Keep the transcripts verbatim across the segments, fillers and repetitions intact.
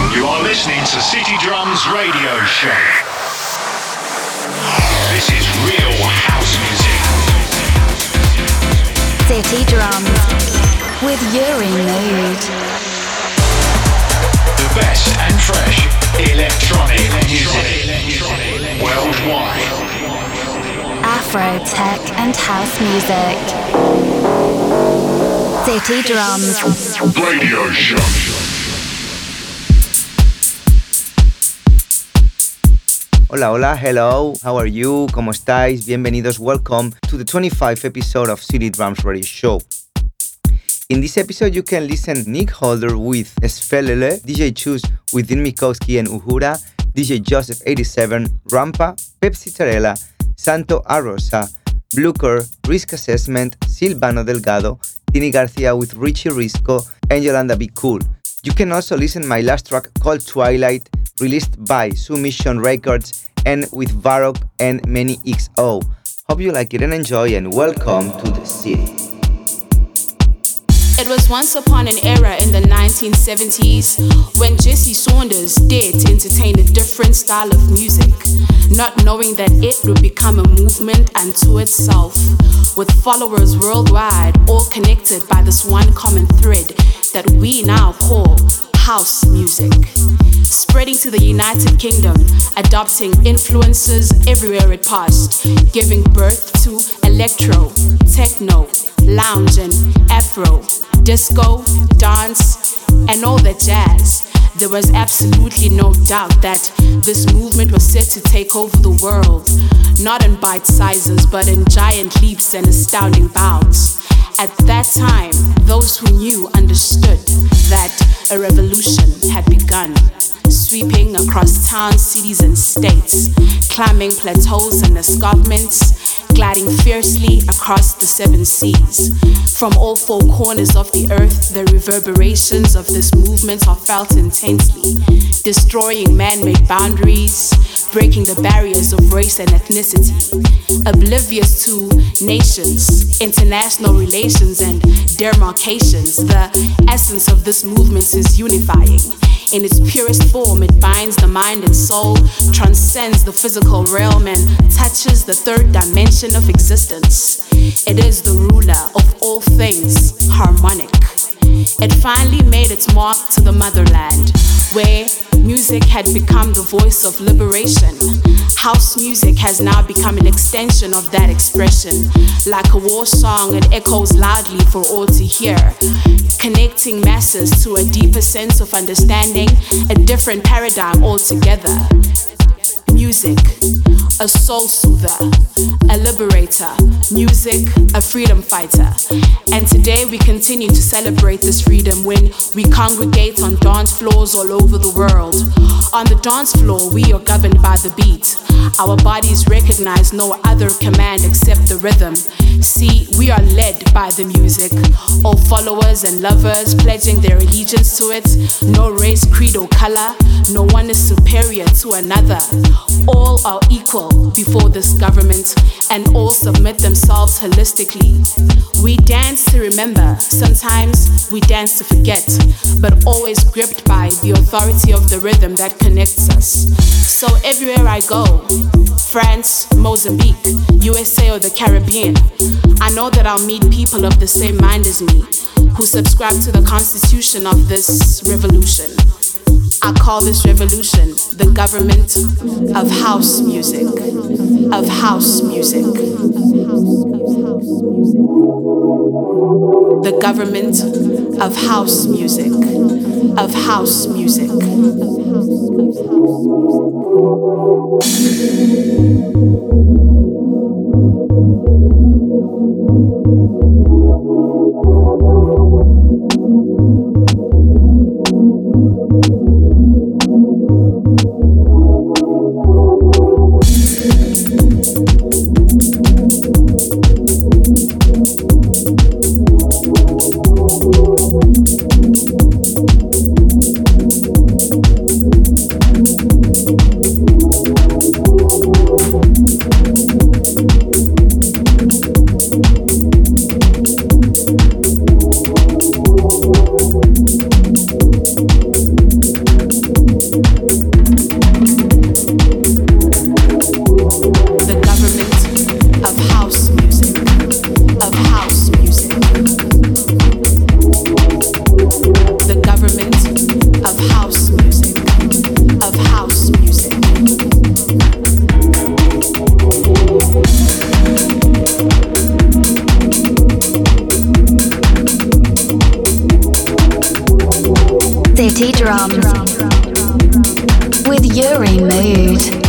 You are listening to City Drums Radio Show. This is real house music. City Drums with Uri Mood. The best and fresh electronic music worldwide. Afro, tech and house music. City Drums Radio Show. Hola, hola, hello, how are you? ¿Cómo estáis? Bienvenidos, welcome to the twenty-fifth episode of City Drums Radio Show. In this episode, you can listen Nick Holder with Svelele, D J Chus with Dean Mikowski and Uhura, D J Joseph eighty-seven, Rampa, Pepsi Tarella, Santo Arrosa, Blucher, Risk Assessment, Silvano Delgado, Tini Garcia with Richie Risco, and Yolanda Be Cool. You can also listen my last track called Twilight, released by Submission Records and with Varrock and Many X O. Hope you like it and enjoy, and welcome to the city. It was once upon an era in the nineteen seventies when Jesse Saunders dared to entertain a different style of music, not knowing that it would become a movement unto itself, with followers worldwide all connected by this one common thread that we now call house music. Spreading to the United Kingdom, adopting influences everywhere it passed, giving birth to electro, techno, lounge and afro, disco, dance, and all that jazz. There was absolutely no doubt that this movement was set to take over the world, not in bite sizes, but in giant leaps and astounding bounds. At that time, those who knew understood that a revolution had begun, sweeping across towns, cities, and states, climbing plateaus and escarpments, gliding fiercely across the seven seas. From all four corners of the earth, the reverberations of this movement are felt intensely, destroying man-made boundaries, breaking the barriers of race and ethnicity. Oblivious to nations, international relations, and demarcations, the essence of this movement is unifying. In its purest form, it binds the mind and soul, transcends the physical realm, and touches the third dimension of existence. It is the ruler of all things, harmonic. It finally made its mark to the motherland, where music had become the voice of liberation. House music has now become an extension of that expression. Like a war song, it echoes loudly for all to hear, connecting masses to a deeper sense of understanding, a different paradigm altogether. Music, a soul soother, a liberator. Music, a freedom fighter. And today we continue to celebrate this freedom when we congregate on dance floors all over the world. On the dance floor, we are governed by the beat. Our bodies recognize no other command except the rhythm. See, we are led by the music. All followers and lovers pledging their allegiance to it. No race, creed, or color. No one is superior to another. All are equal before this government, and all submit themselves holistically. We dance to remember, sometimes we dance to forget, but always gripped by the authority of the rhythm that connects us. So everywhere I go, France, Mozambique, U S A or the Caribbean, I know that I'll meet people of the same mind as me, who subscribe to the constitution of this revolution. I call this revolution the government of house music, of house music. The government of house music, of house music. City Drums with Yuri Mood.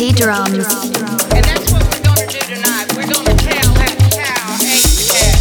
City Drums. And that's what we're going to do tonight. We're going to tell that cow ate the cat.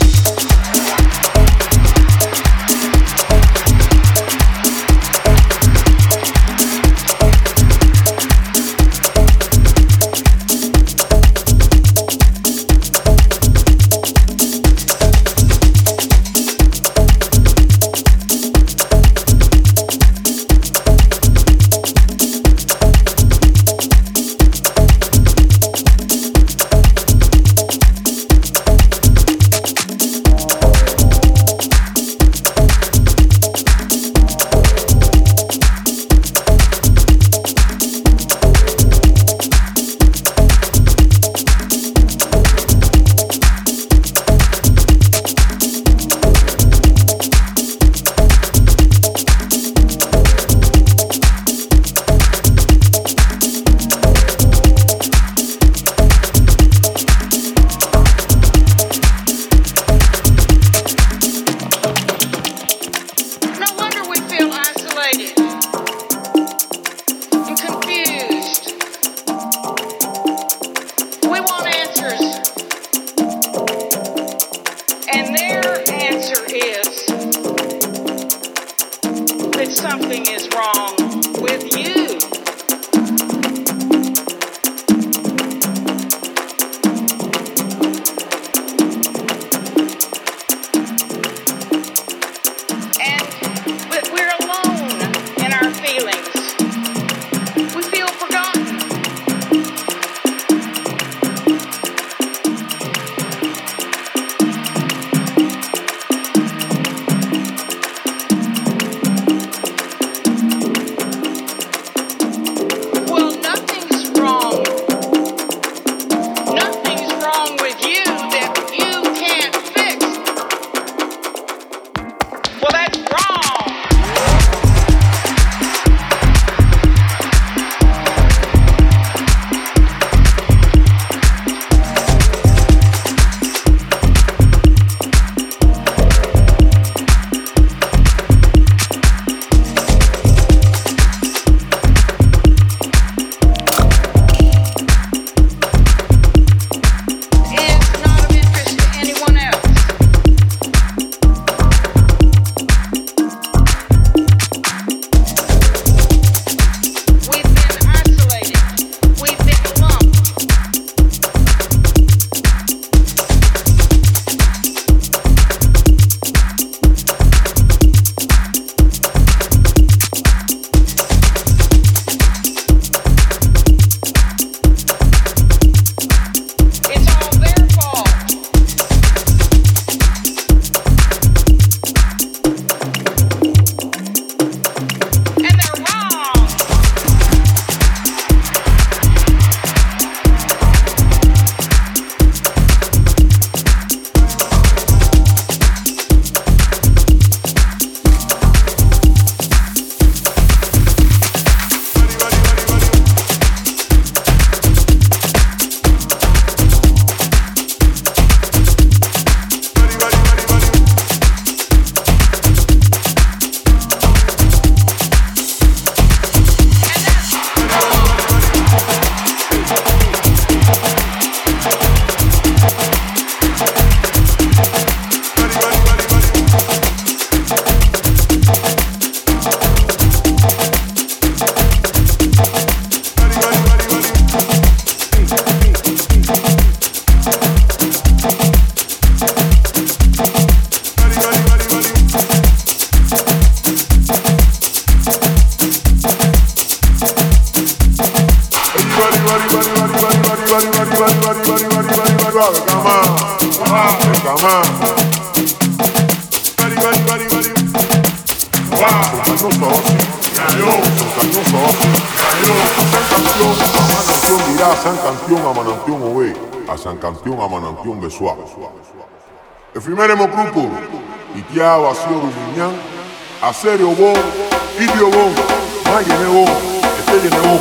Efiméremo grupo, Itia Wasio Ruminyan, Aserio Bon, Idio Bon, Mayene Bon, Etele Bon.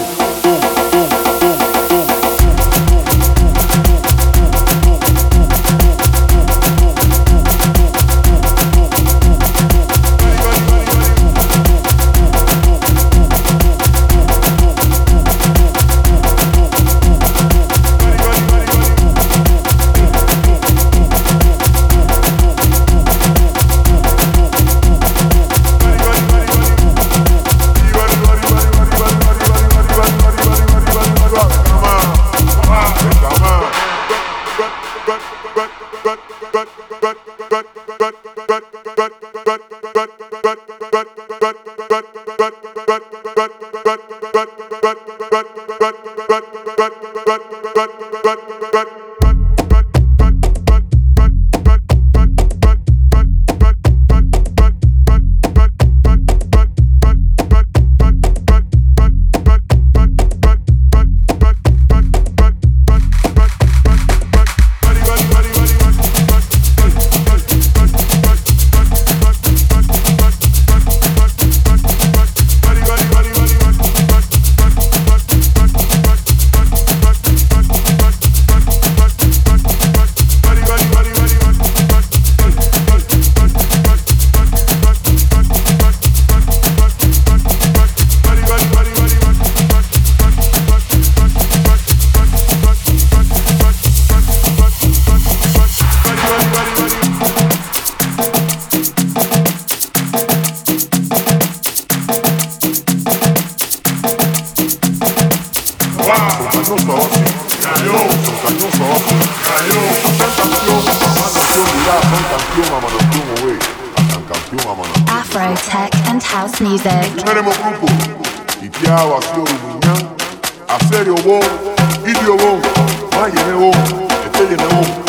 Afro, tech and house music. Tumeremo grupo Itiawa sio rumunyan Aserio wo Idio wo Mayene wo Eteyene wo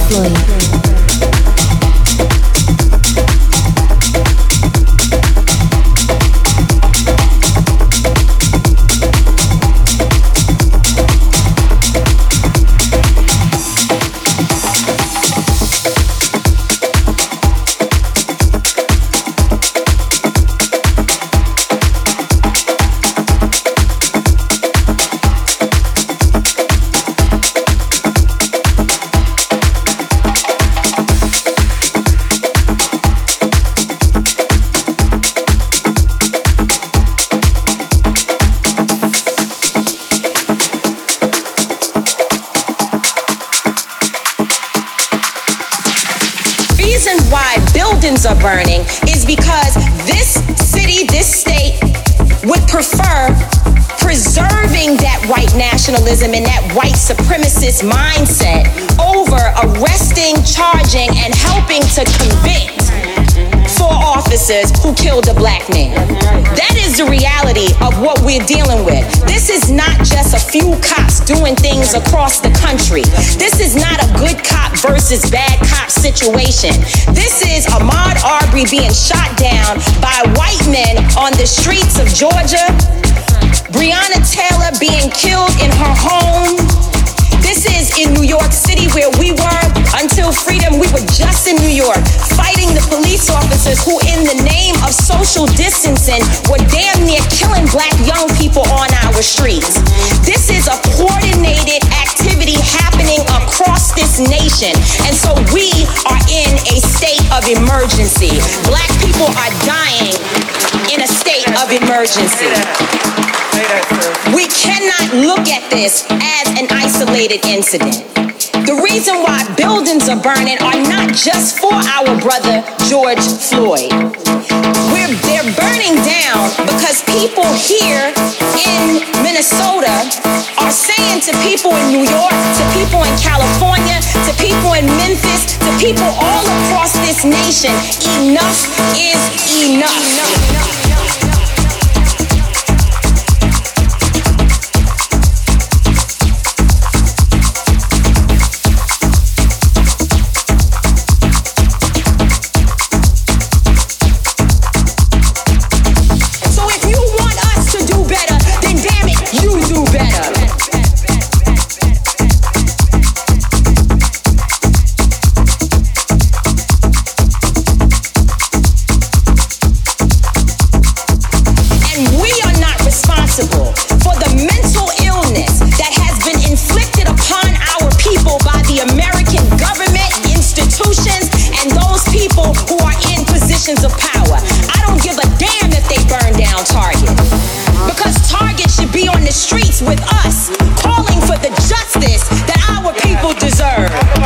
Are burning is because this city, this state would prefer preserving that white nationalism and that white supremacist mindset over arresting, charging, and helping to convict four officers who killed a black man. That is the reality of what we're dealing with. This is not just a few cops doing things across the country. This is not a good cop versus bad cop situation. This is Ahmaud Arbery being shot down by white men on the streets of Georgia. Breonna Taylor being killed in her home. This is in New York City where we were until freedom. We were just in New York fighting the police officers who in the name of social distancing were damn near killing black young people on our streets. This is a coordinated activity happening across this nation. And so we are in a state of emergency. Black people are dying in a state of emergency. We cannot look at this as an isolated incident. The reason why buildings are burning are not just for our brother George Floyd. We're, they're burning down because people here in Minnesota are saying to people in New York, to people in California, to people in Memphis, to people all across this nation, enough is enough. enough. Of power. I don't give a damn if they burn down Target, because Target should be on the streets with us, calling for the justice that our people deserve.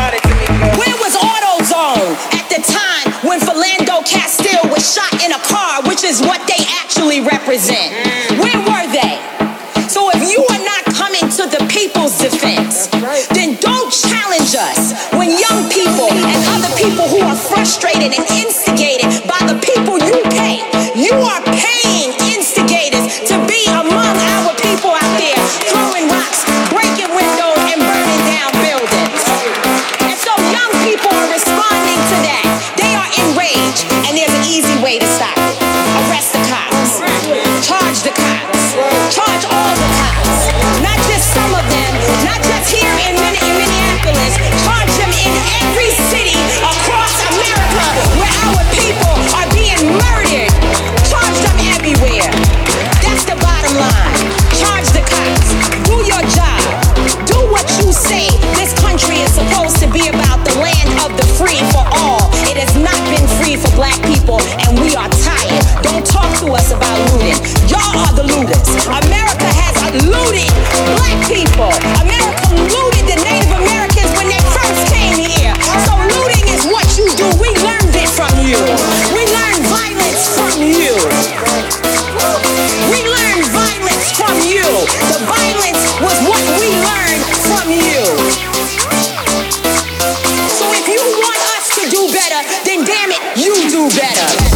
Where was AutoZone at the time when Philando Castile was shot in a car, which is what they actually represent? Where were they? So if you are not coming to the people's defense, then don't challenge us when young people and other people who are frustrated and instigated by the people you pay. You are paying instigators to be among our people out there throwing rocks, breaking windows, and burning down buildings. And so young people are responding to that. They are enraged, and there's an easy way to stop it. Arrest the cops. Charge the cops. Charge all the cops. Not just some of them, not just here in Minneapolis. Charge them in every city across America where our people are being murdered. Charge them everywhere. That's the bottom line. Charge the cops. Do your job. Do what you say. This country is supposed to be about the land of the free for all. It has not been free for black people, and we are tired. Don't talk to us about looting. Y'all are the looters. America has looted black people. America looted the Native Americans when they first came here. So looting is what you do. We learned it from you. We learned violence from you. We learned violence from you. The violence was what we learned from you. So if you want us to do better, then damn it, you do better.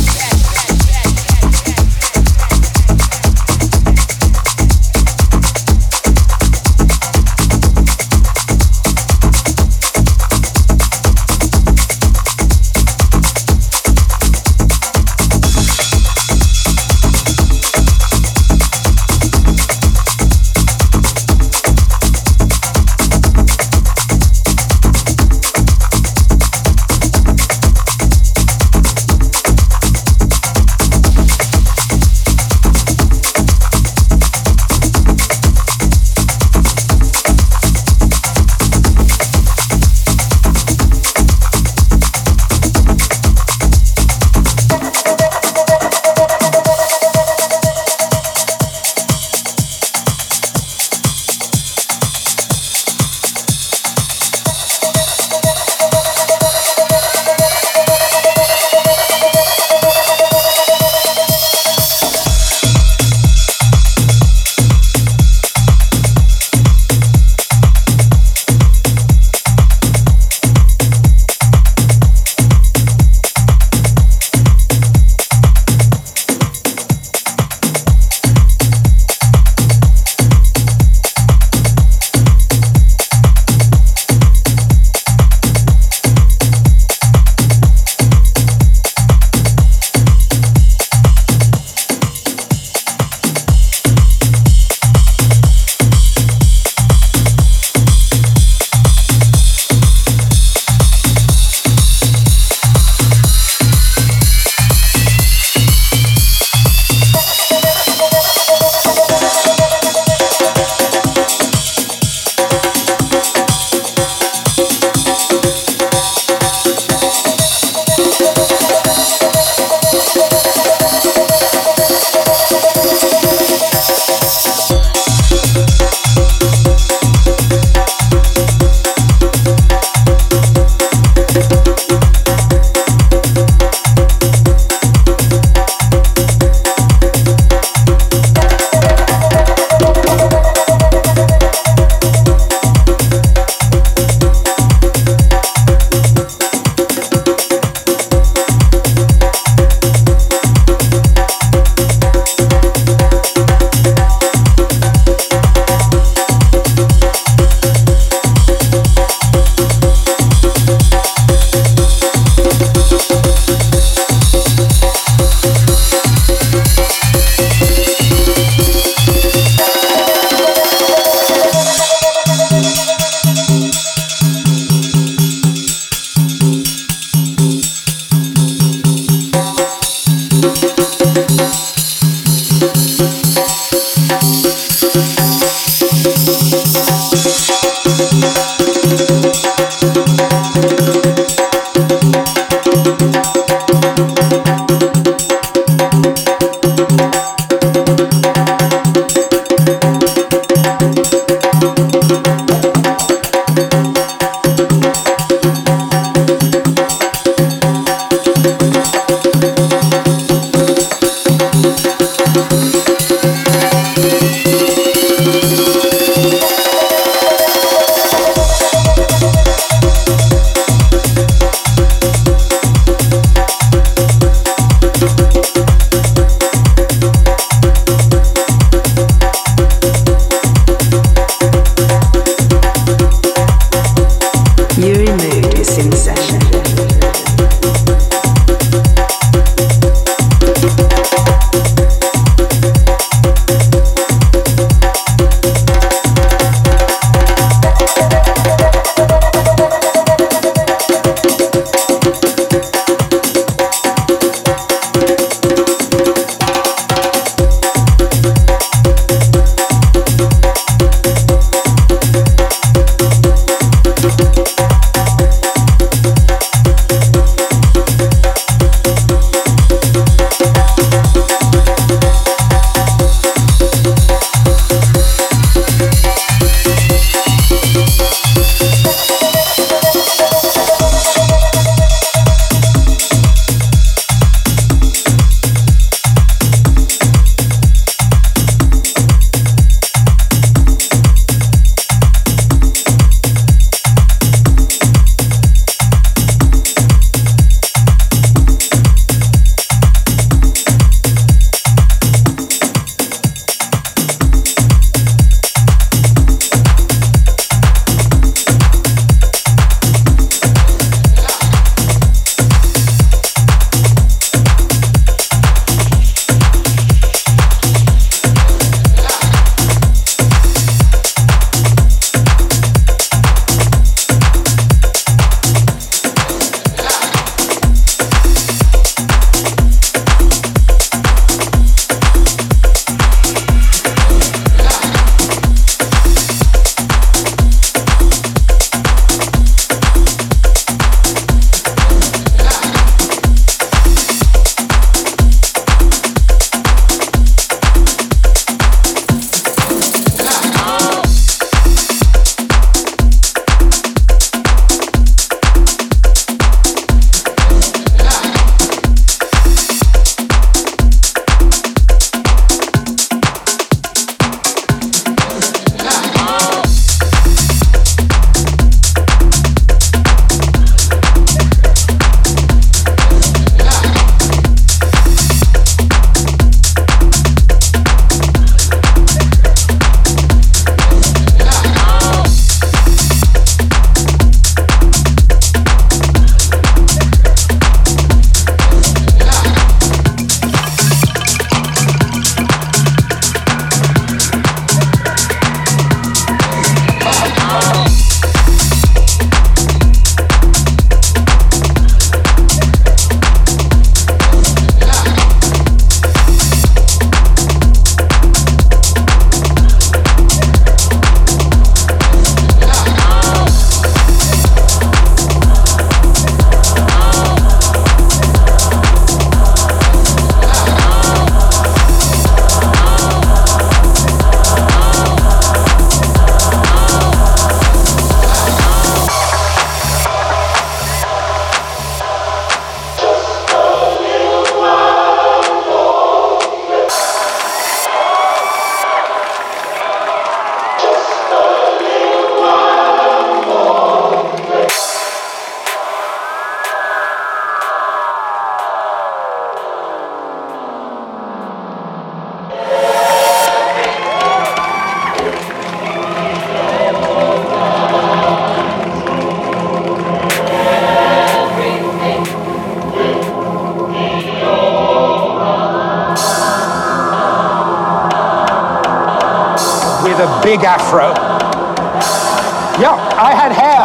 with a big afro. Yeah, I had hair.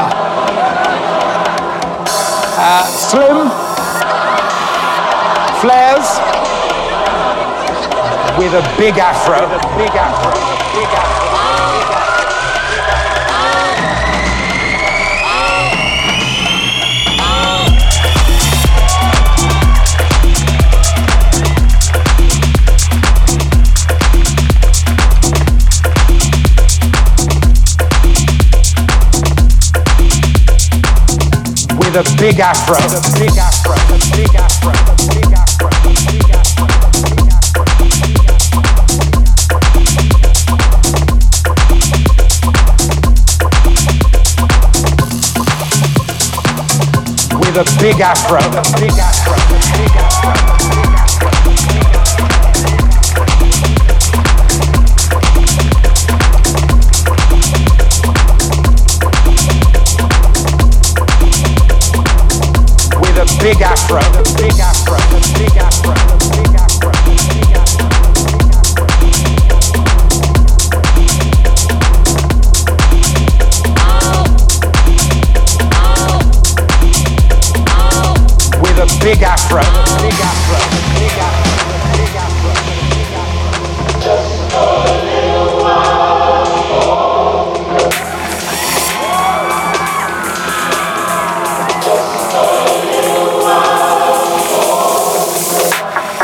Uh, slim, flares, with a big afro. With a big afro. Big afro. With a big afro, with a big afro, a big afro, a big afro, a big afro, with a big afro, a big afro, a big afro. Big afro, the big afro, the big afro, the big afro, the big afro. With a big afro, the big afro, the big afro, the big afro, the big afro. Just a little while longer. Just a little while longer.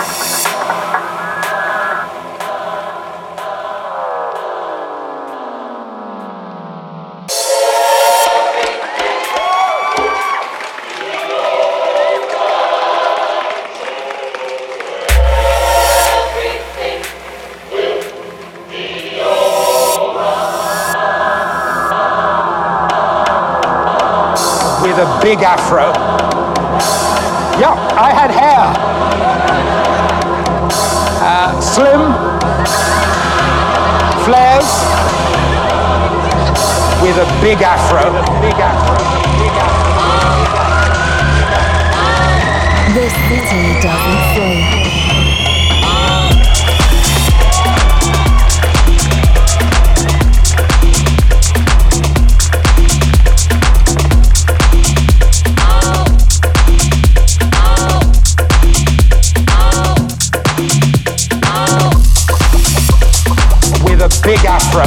With a big afro. Yeah, I had hair. Uh, slim, flares, with a big afro. With a big afro. Big afro. This city doesn't sleep. Big afro.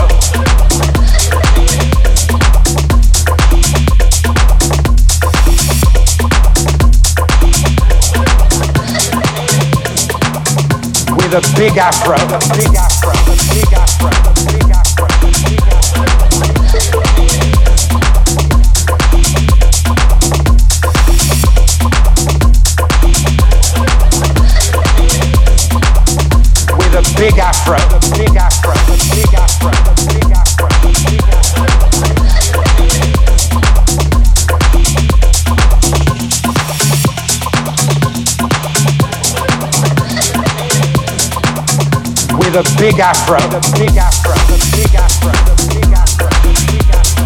With a big afro. A big afro. A big afro. A big afro. A big afro. With a big afro. A big afro. Big afro, big afro, big afro. With a big afro, the big afro, the big afro, the big afro, the big afro.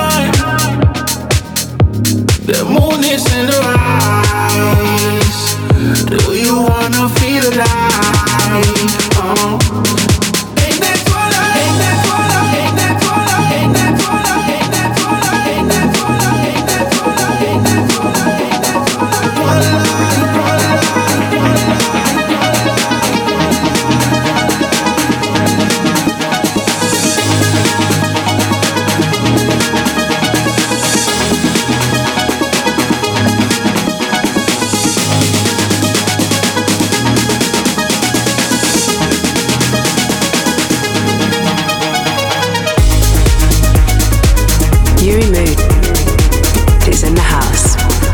night. The moon is in the rise. Do you wanna feel the light? Oh. Ain't that twilight? Ain't that twilight? Ain't that twilight? Ain't that twilight? Ain't that twilight? Ain't that twilight? Ain't that twilight? Ain't that twilight? Ain't that twilight? Twilight, twilight, twilight. Yuri Mood is in the house.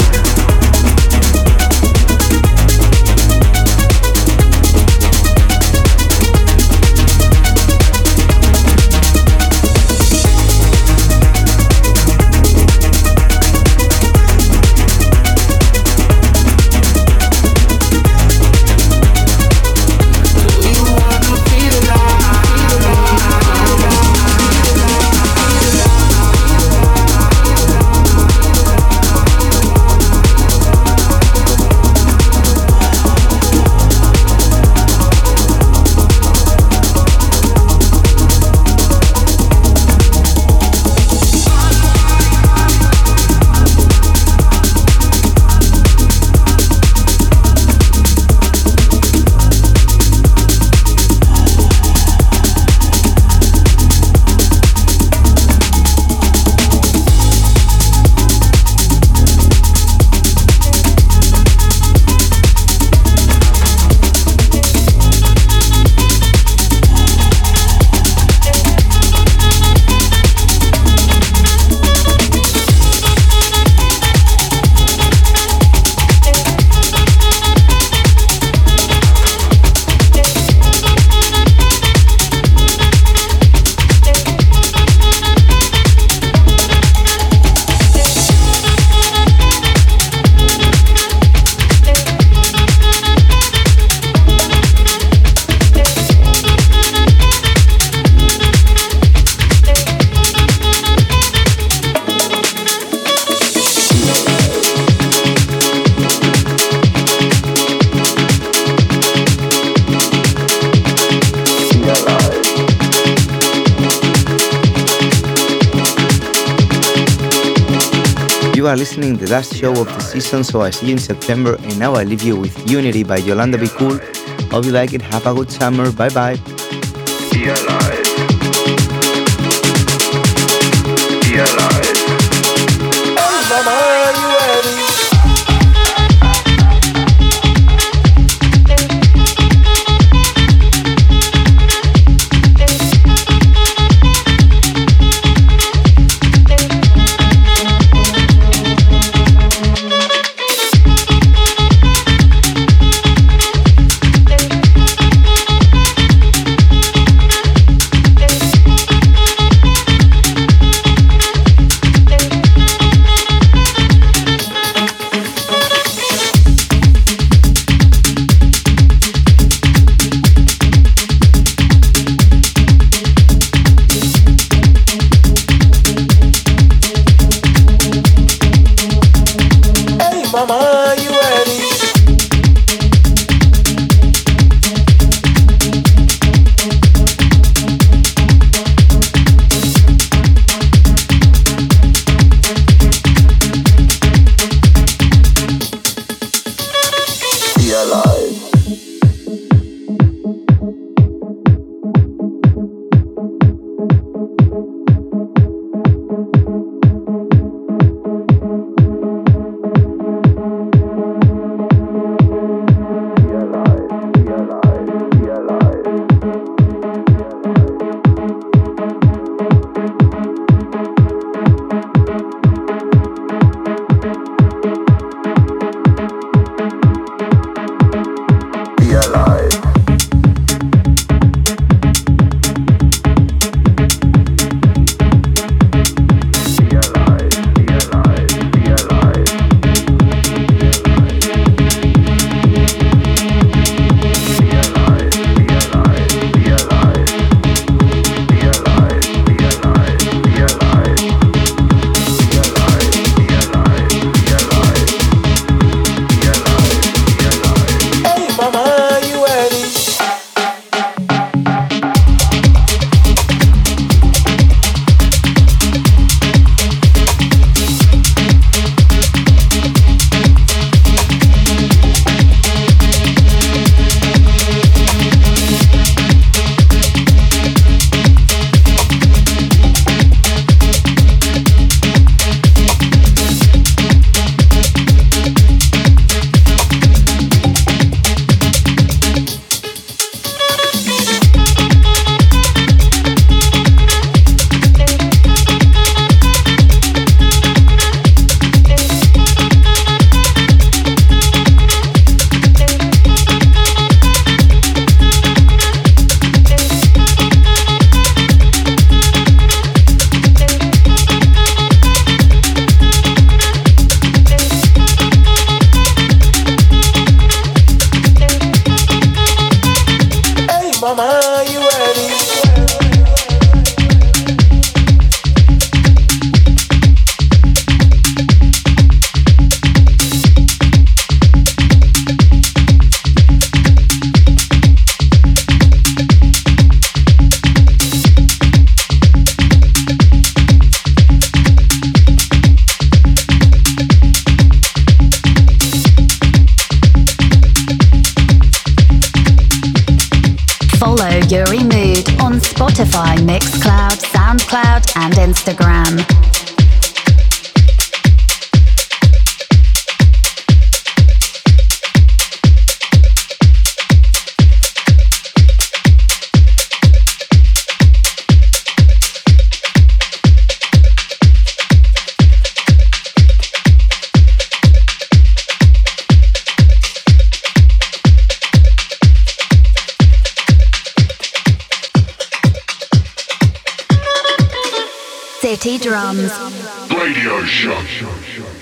You are listening to the last show of the season, so I see you in September, and now I leave you with Unity by Yolanda Be Cool. Hope you like it, have a good summer, bye bye. Be alive. Be alive. Hey, mama, are you ready? Yuri Mood on Spotify, Mixcloud, Soundcloud, and Instagram. City Drums Radio Show.